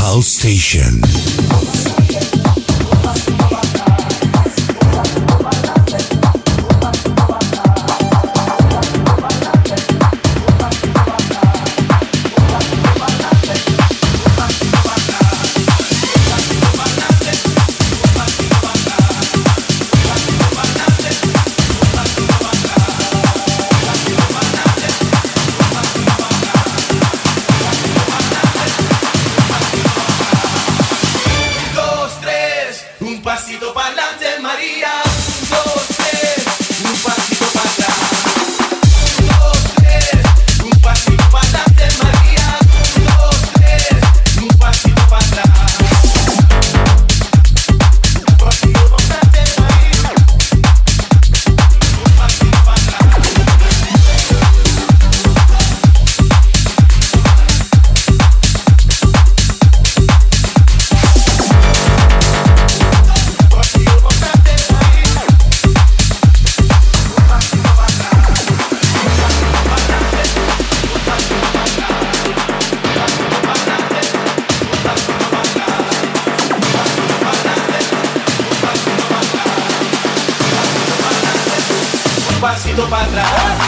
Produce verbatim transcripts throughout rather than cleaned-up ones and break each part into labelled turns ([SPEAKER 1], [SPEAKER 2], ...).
[SPEAKER 1] House Station.
[SPEAKER 2] Pasito para atrás.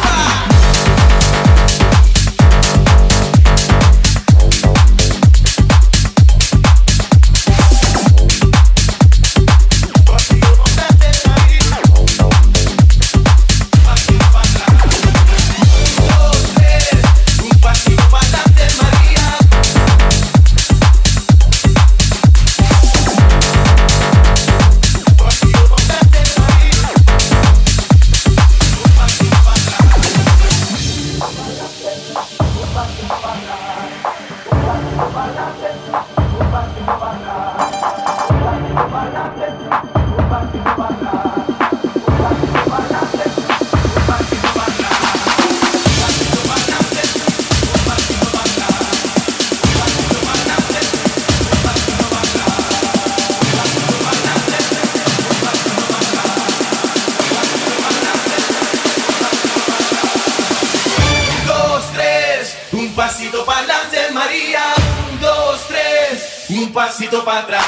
[SPEAKER 2] Pasito para adelante, María. Un, dos, tres. Un pasito para atrás.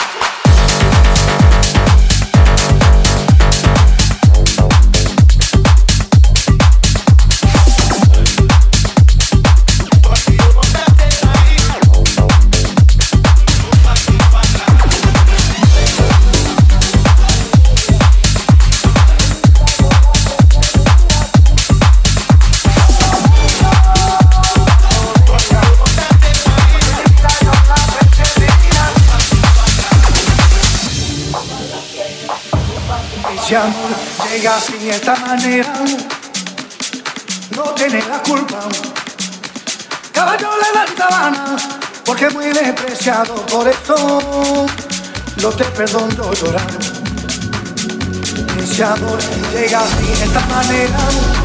[SPEAKER 3] Si amor llega así de esta manera, no tiene la culpa. Caballo levanta mano, porque es muy despreciado, por eso no te perdono llorar. Si amor llega así de esta manera,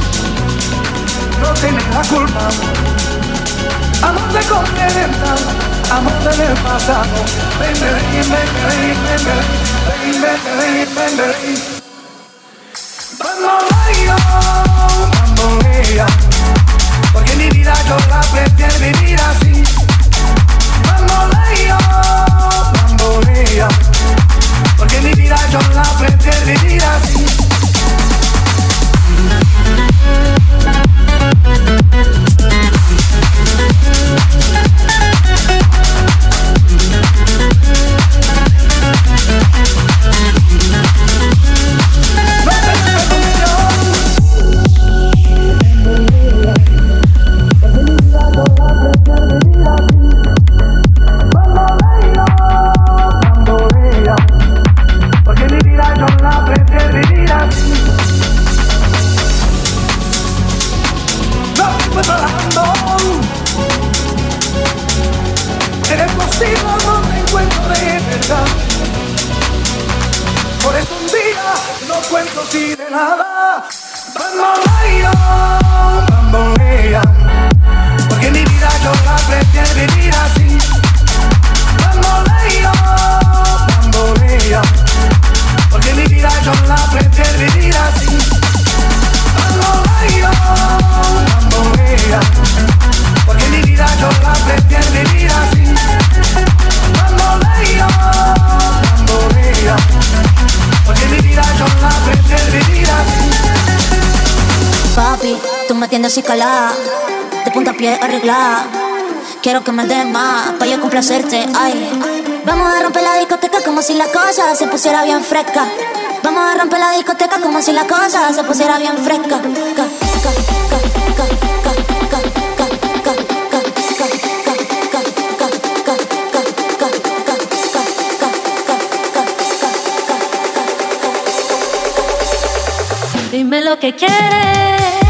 [SPEAKER 3] no tiene la culpa. Amor de complementa, amor del pasado. Ven, ven, ven, ven, ven, ven, ven, ven, ven, ven. Bambolea, bambolea, porque mi vida yo la prefiero vivir así. Bambolea, bambolea, porque mi vida yo la prefiero vivir así. Porque mi vida yo la prefiero vivir así.
[SPEAKER 1] me tienes así calada, de punta a pie arreglada. Quiero que me des más, pa' yo complacerte, ay. Vamos a romper la discoteca como si la cosa se pusiera bien fresca. Vamos a romper la discoteca como si la cosa se pusiera bien fresca. Ca, ca, ca, ca, ca, ca, ca, ca, ca. Dime lo que quieres.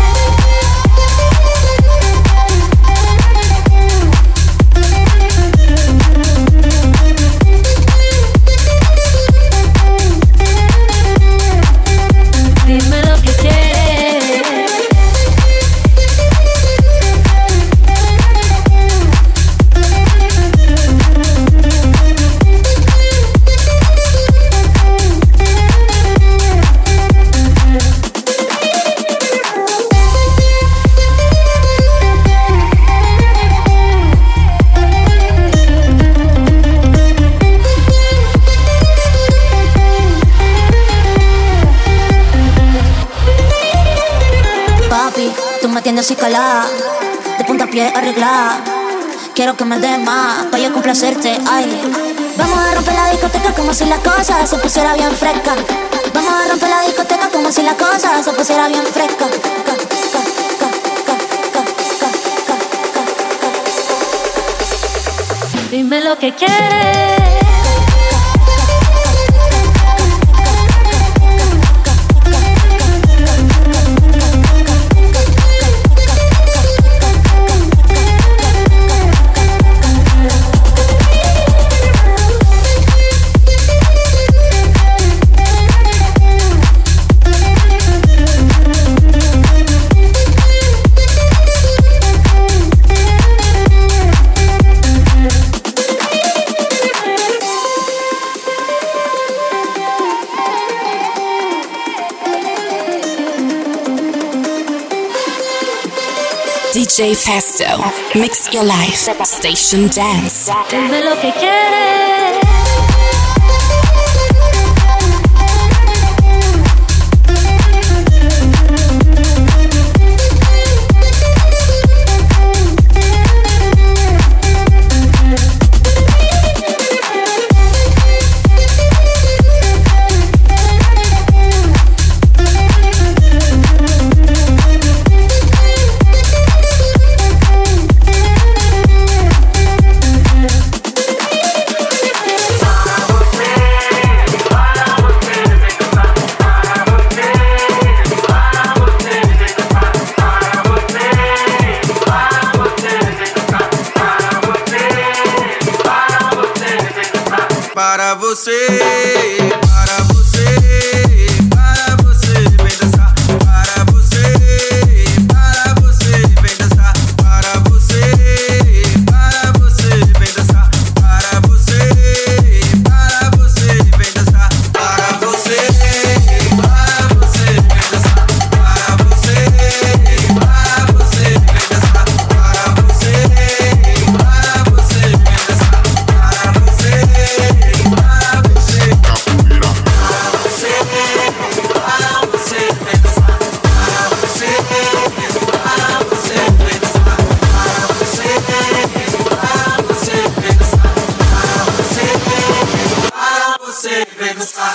[SPEAKER 1] Así calada, de punta a pie arreglada. Quiero que me des más, pa' yo complacerte, ay. Vamos a romper la discoteca como si la cosa se pusiera bien fresca. Vamos a romper la discoteca como si la cosa se pusiera bien fresca. Dime lo que quieres.
[SPEAKER 4] D J Festo, mix your life, station dance.
[SPEAKER 1] Dime lo que quieres.
[SPEAKER 5] Para você, para você, para você, vem dançar. Para você, para você, vem dançar. Para você, para você, vem dançar. Para você, para você, vem dançar. Para você, para você, vem dançar. Para você, para você, vem dançar. Para você, para você, vem dançar. Para você, vem dançar.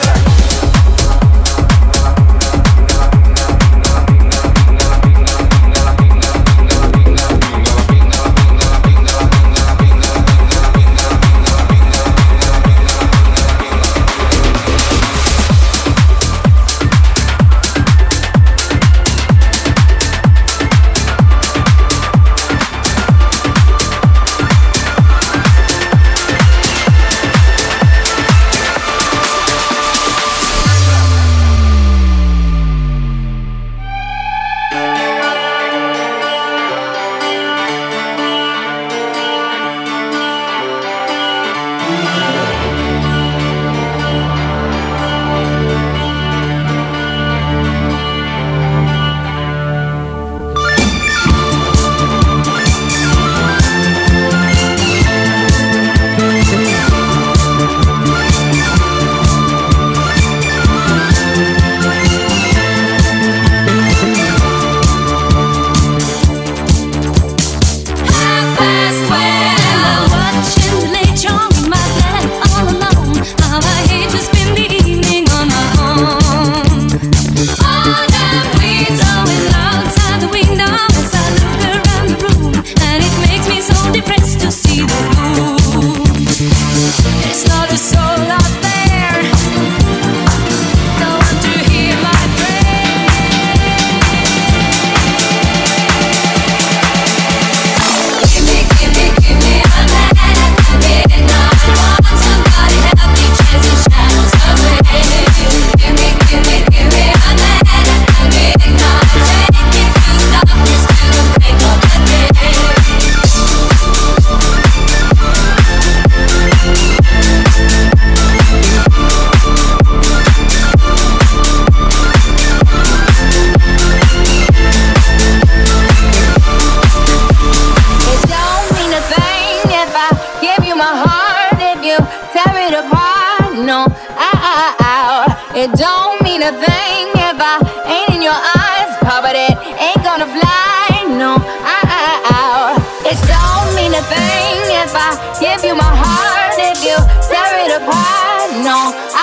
[SPEAKER 6] It don't mean a thing if I ain't in your eyes, but it ain't gonna fly, no. It don't mean a thing if I give you my heart, if you tear it apart, no.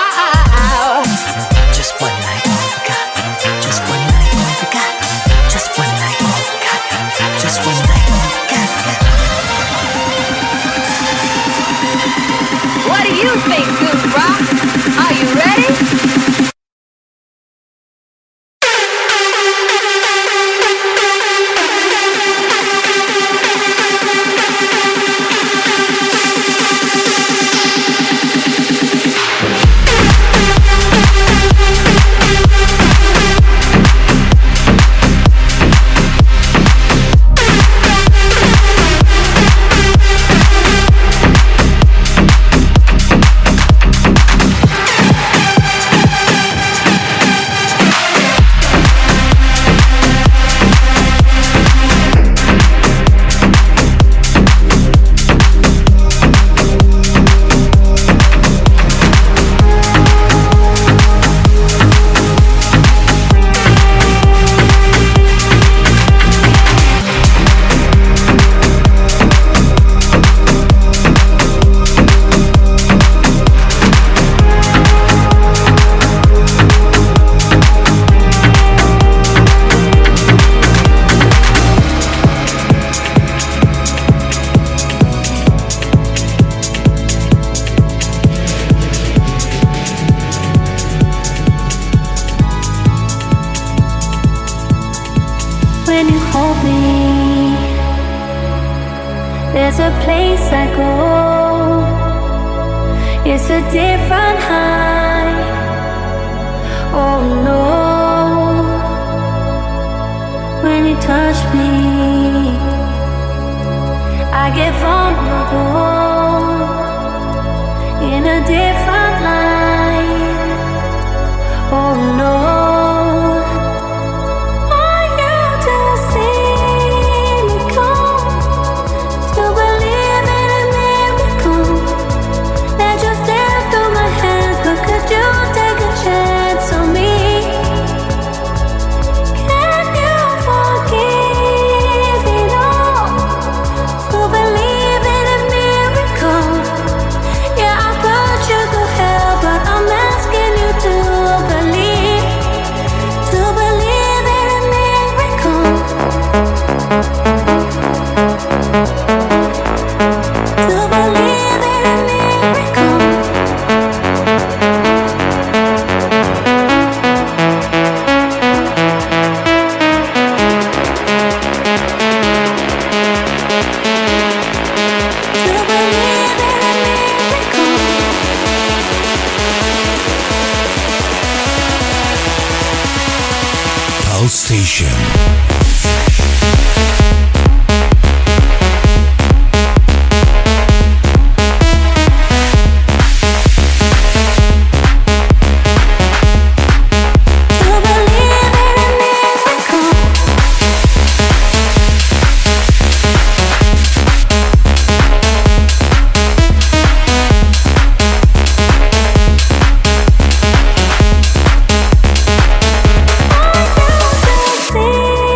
[SPEAKER 7] Just one night, all we got. Just one night, all we got. Just one night, all we got. Just one night, all we got.
[SPEAKER 6] What do you think, Goose Rock? Are you ready?
[SPEAKER 8] There's a place I go. It's a different high. Oh no. When you touch me, I get vulnerable in a different light. Oh no.
[SPEAKER 9] Station.
[SPEAKER 8] See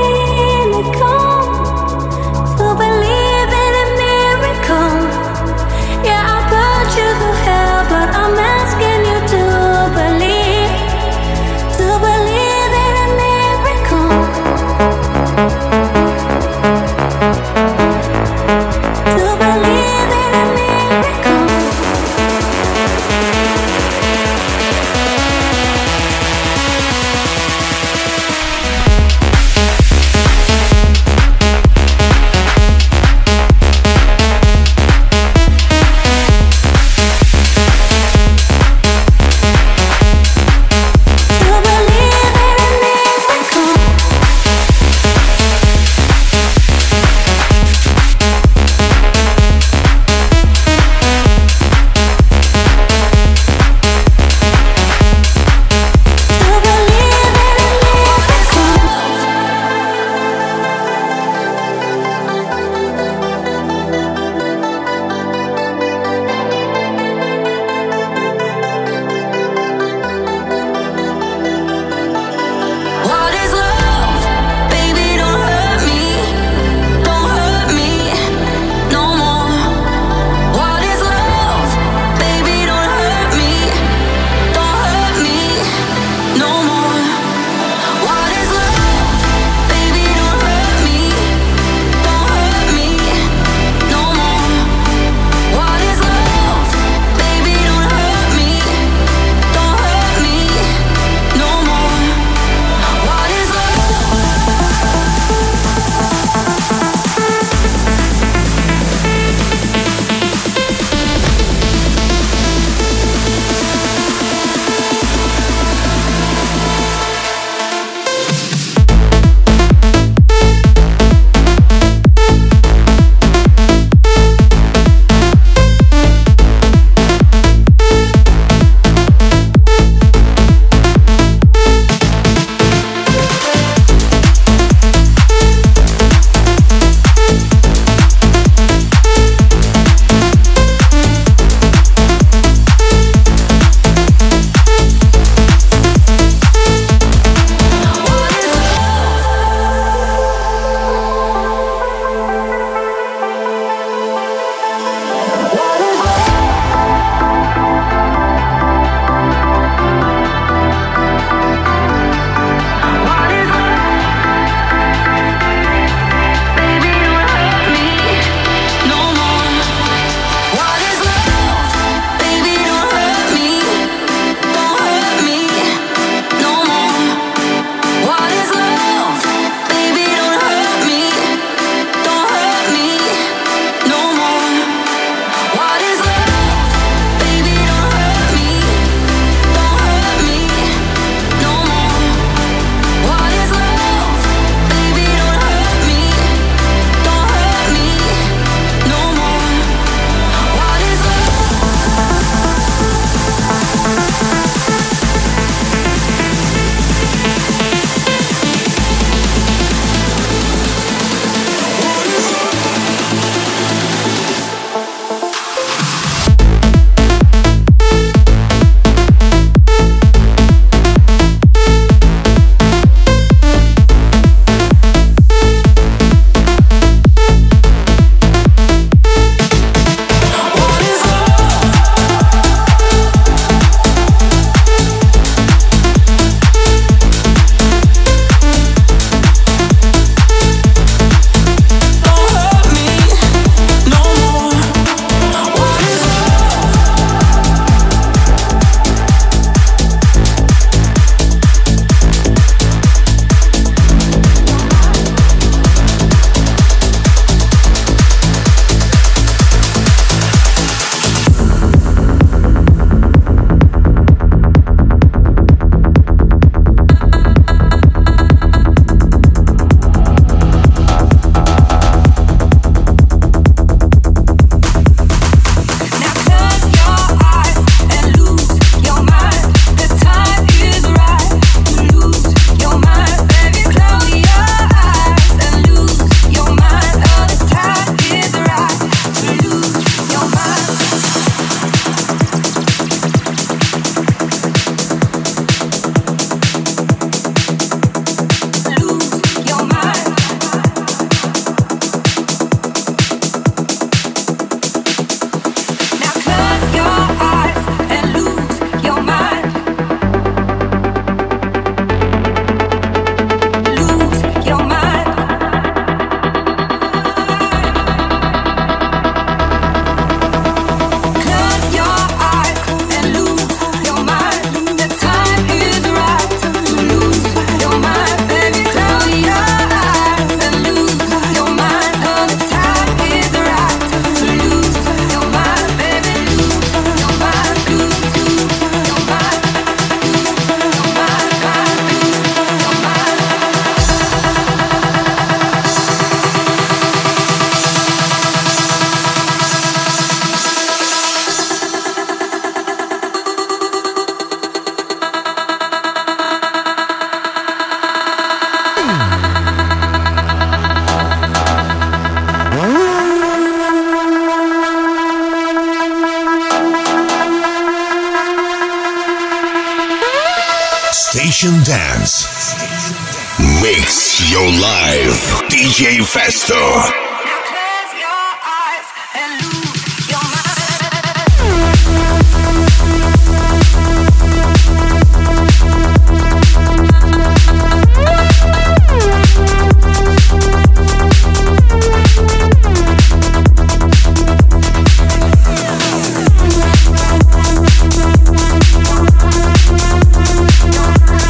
[SPEAKER 9] Station Dance. Mix your life. D J Festo.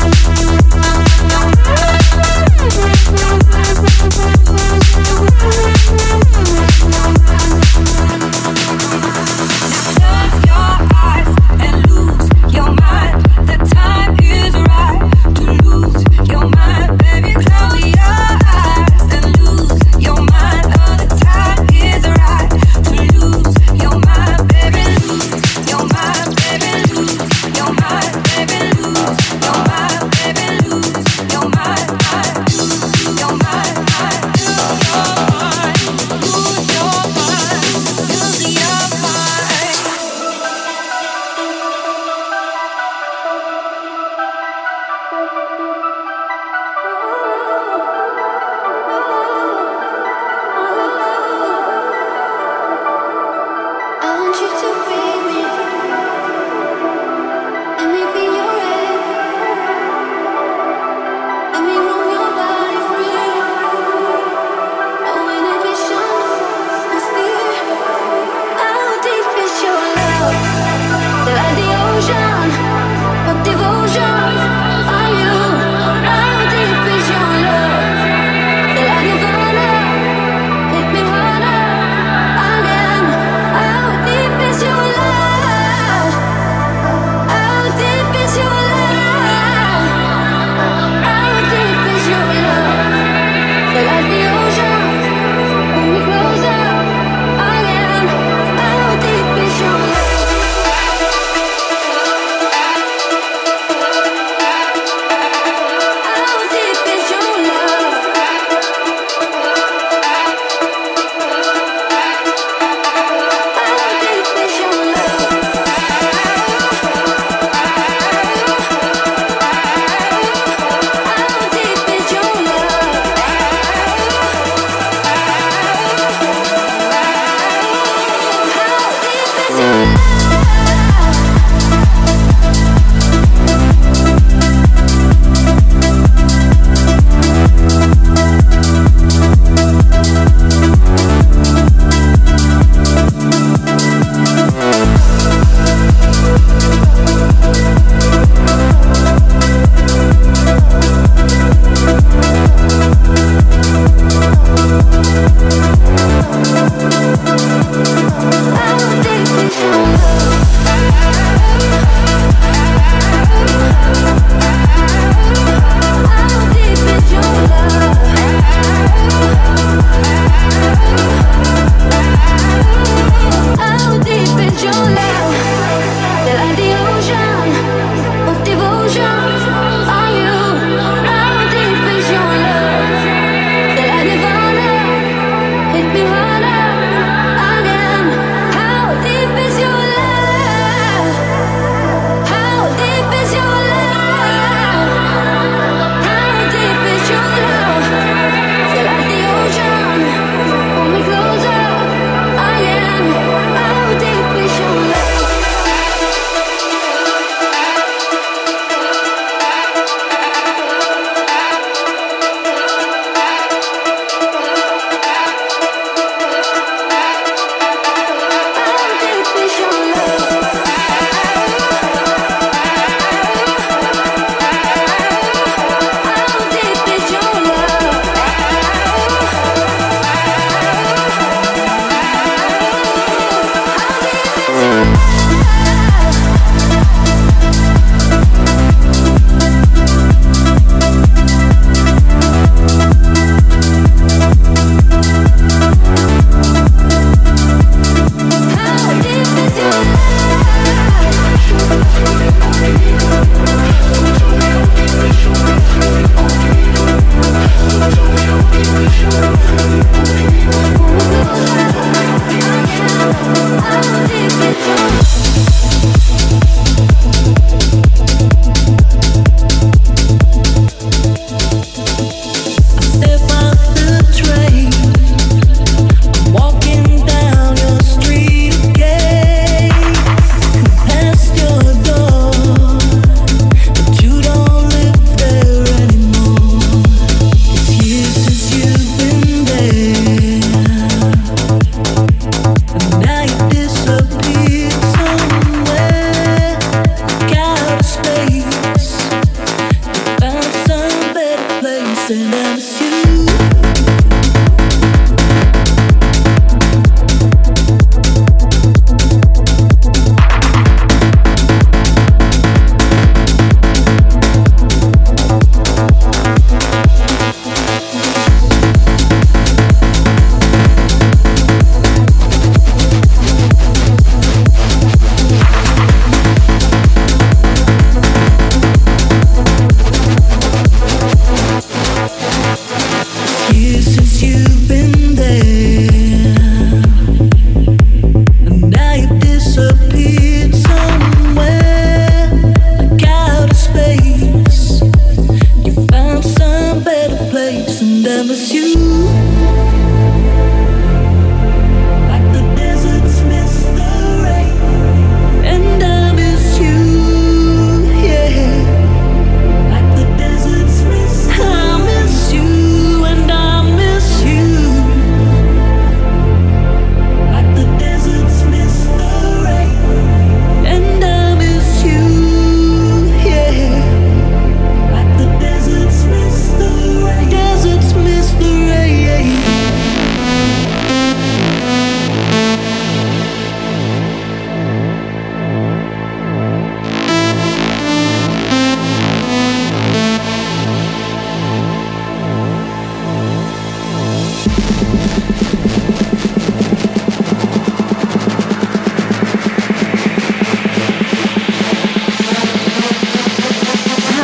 [SPEAKER 8] We'll be right back.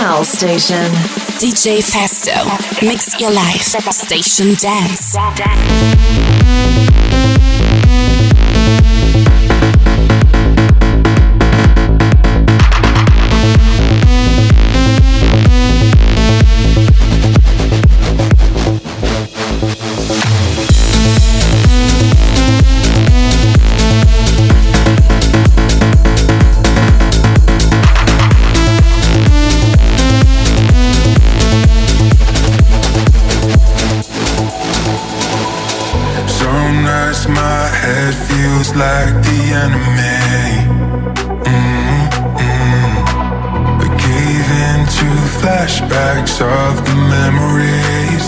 [SPEAKER 10] house station.
[SPEAKER 4] D J Festo, mix your life, Station Dance.
[SPEAKER 11] Like the enemy, mm-hmm. We gave into flashbacks of the memories,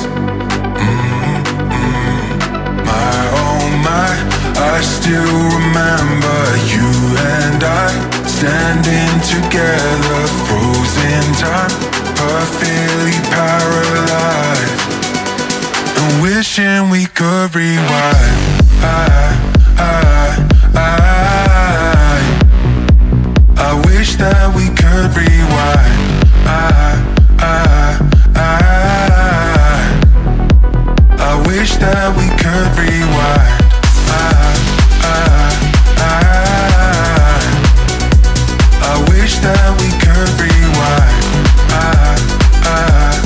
[SPEAKER 11] mm-hmm. My oh my, I still remember you and I standing together, frozen time, perfectly paralyzed, and wishing we could rewind. I, I, I, I wish that we could rewind. I, I, I, I wish that we could rewind. I, I, I, I wish that we could rewind. I, I,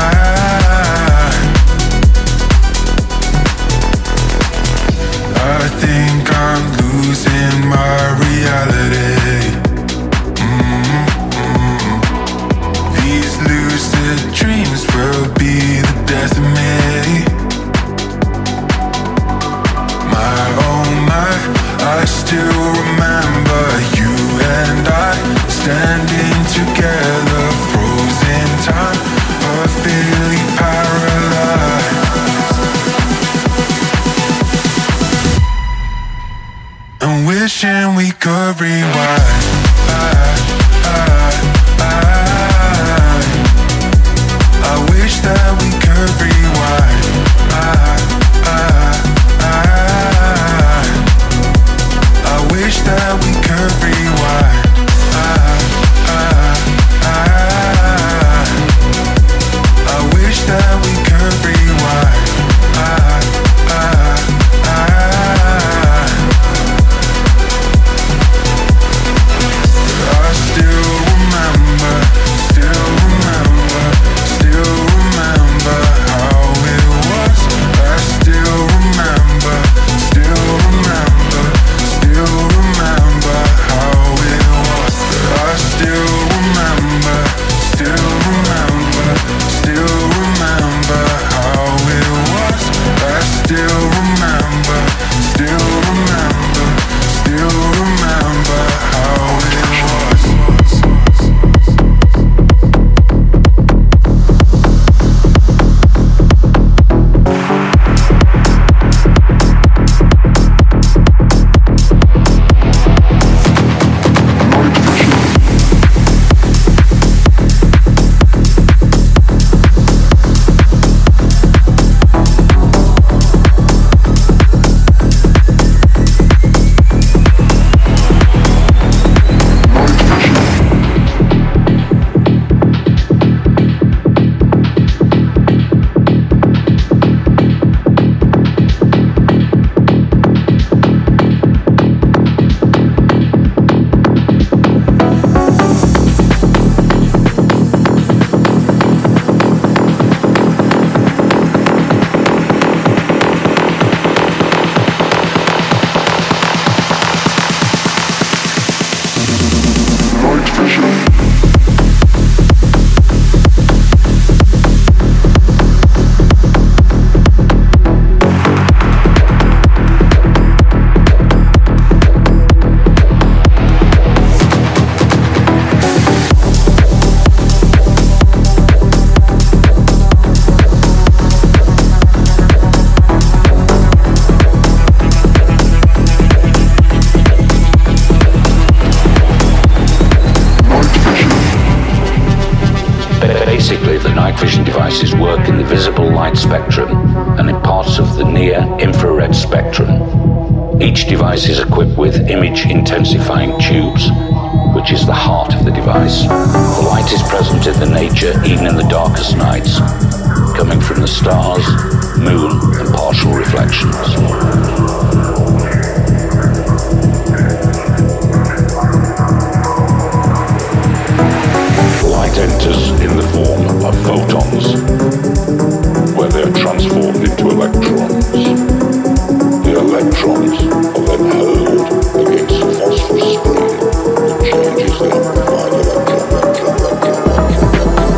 [SPEAKER 11] I, I think I'm losing my reality. Mm-hmm. These lucid dreams will be the death of me. My oh my, I still remember you and I standing together, frozen time, perfectly paralyzed, and wishing we could rewind. I, I, I, I wish that we could rewind. I, I, I, I wish that we could rewind. I, I, I, I wish that we could rewind. I, I, I, I still remember, still remember, still remember how it was. I still remember, still remember, still remember how it was. I still remember, still remember, still remember how it was. I still remember, still remember, still remember how it was.
[SPEAKER 12] Devices work in the visible light spectrum and in parts of the near-infrared spectrum. Each device is equipped with image-intensifying tubes, which is the heart of the device. The light is present in the nature, even in the darkest nights, coming from the stars, moon, and partial reflections. Light enters in the form of photons, where they are transformed into electrons. The electrons are then hurled against the phosphorus screen, which changes the amplified electron, electron, electron.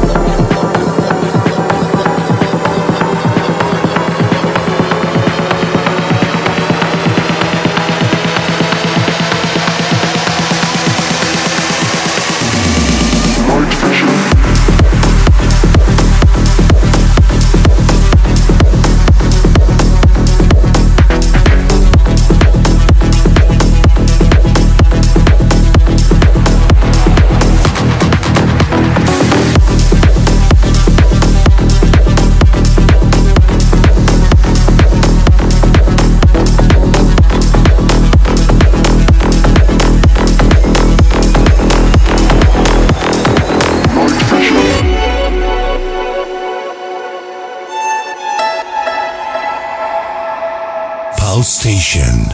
[SPEAKER 9] Station.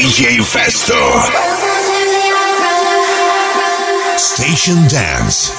[SPEAKER 9] J Festo. Station Dance.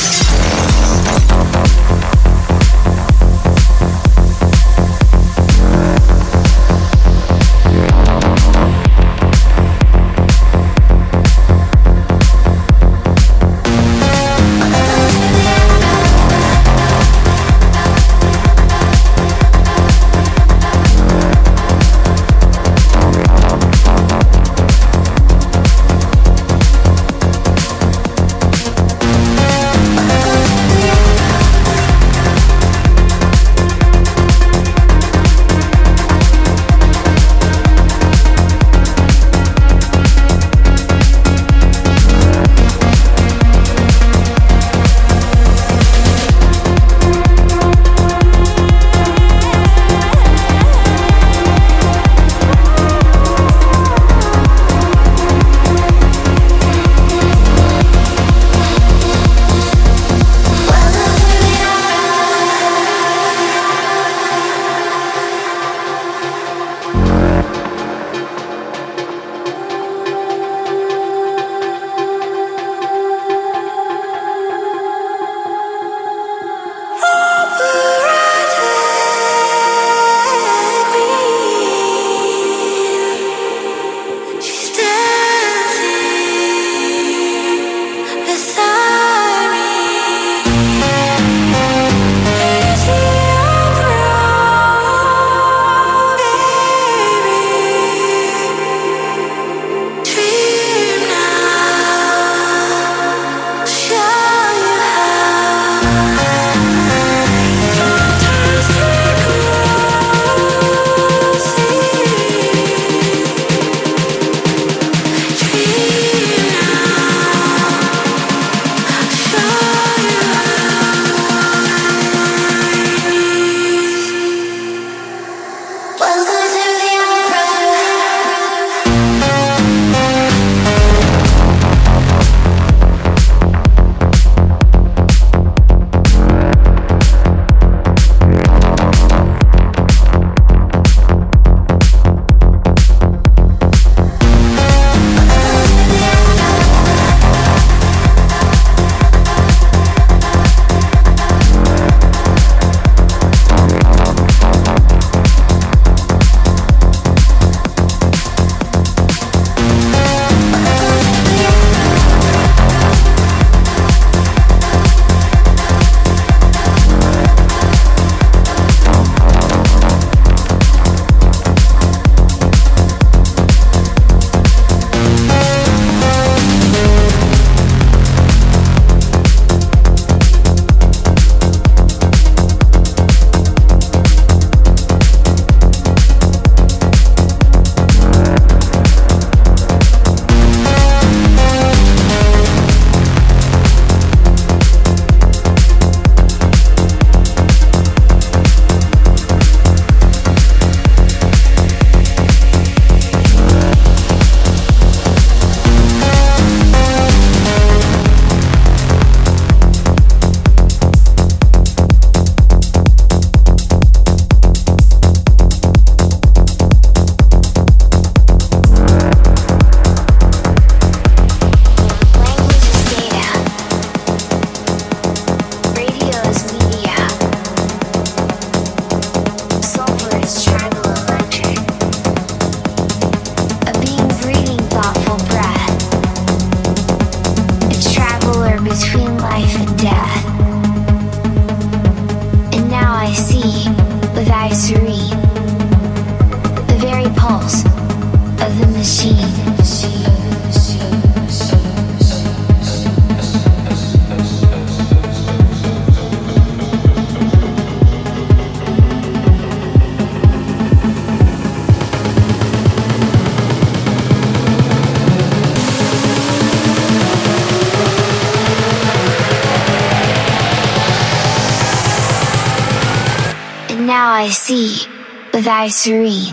[SPEAKER 10] Now I see, with eyes serene.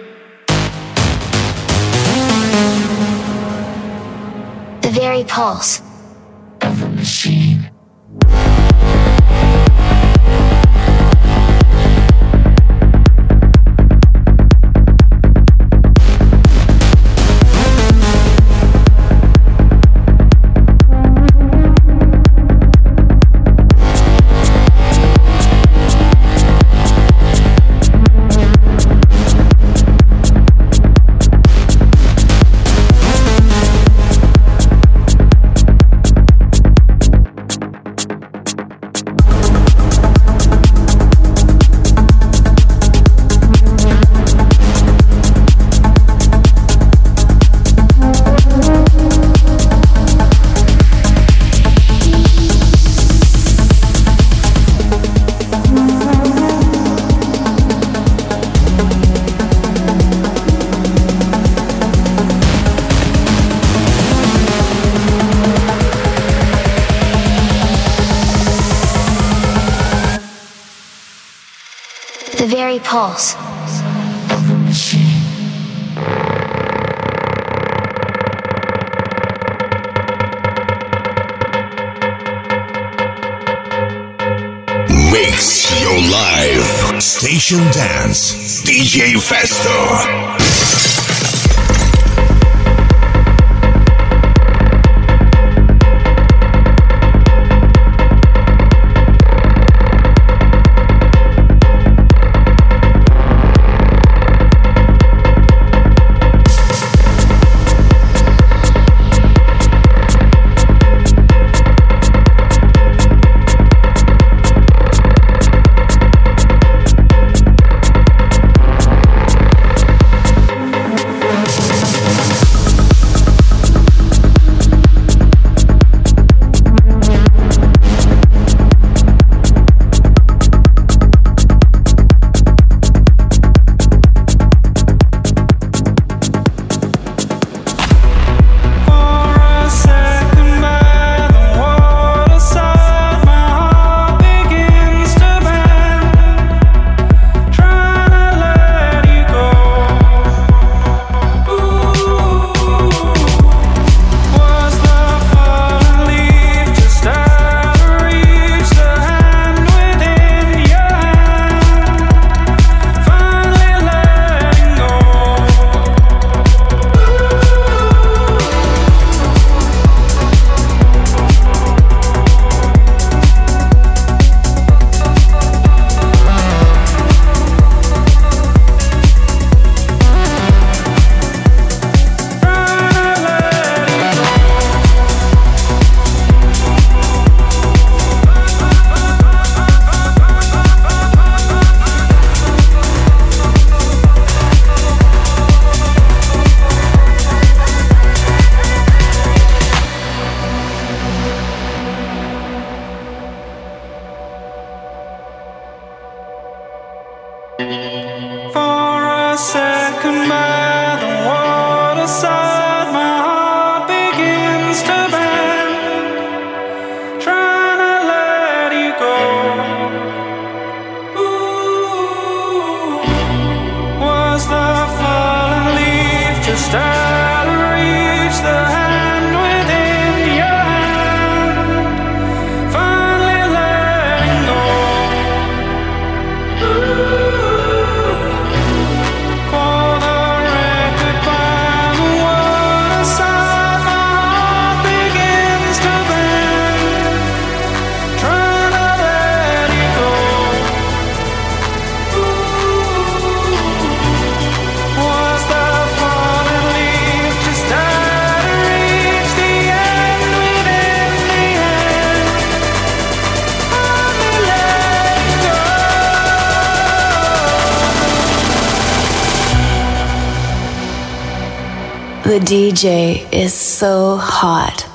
[SPEAKER 10] The very pulse of the machine. very pulse of the machine.
[SPEAKER 9] Mix your life. Station Dance. D J Festo.
[SPEAKER 4] The D J is so hot.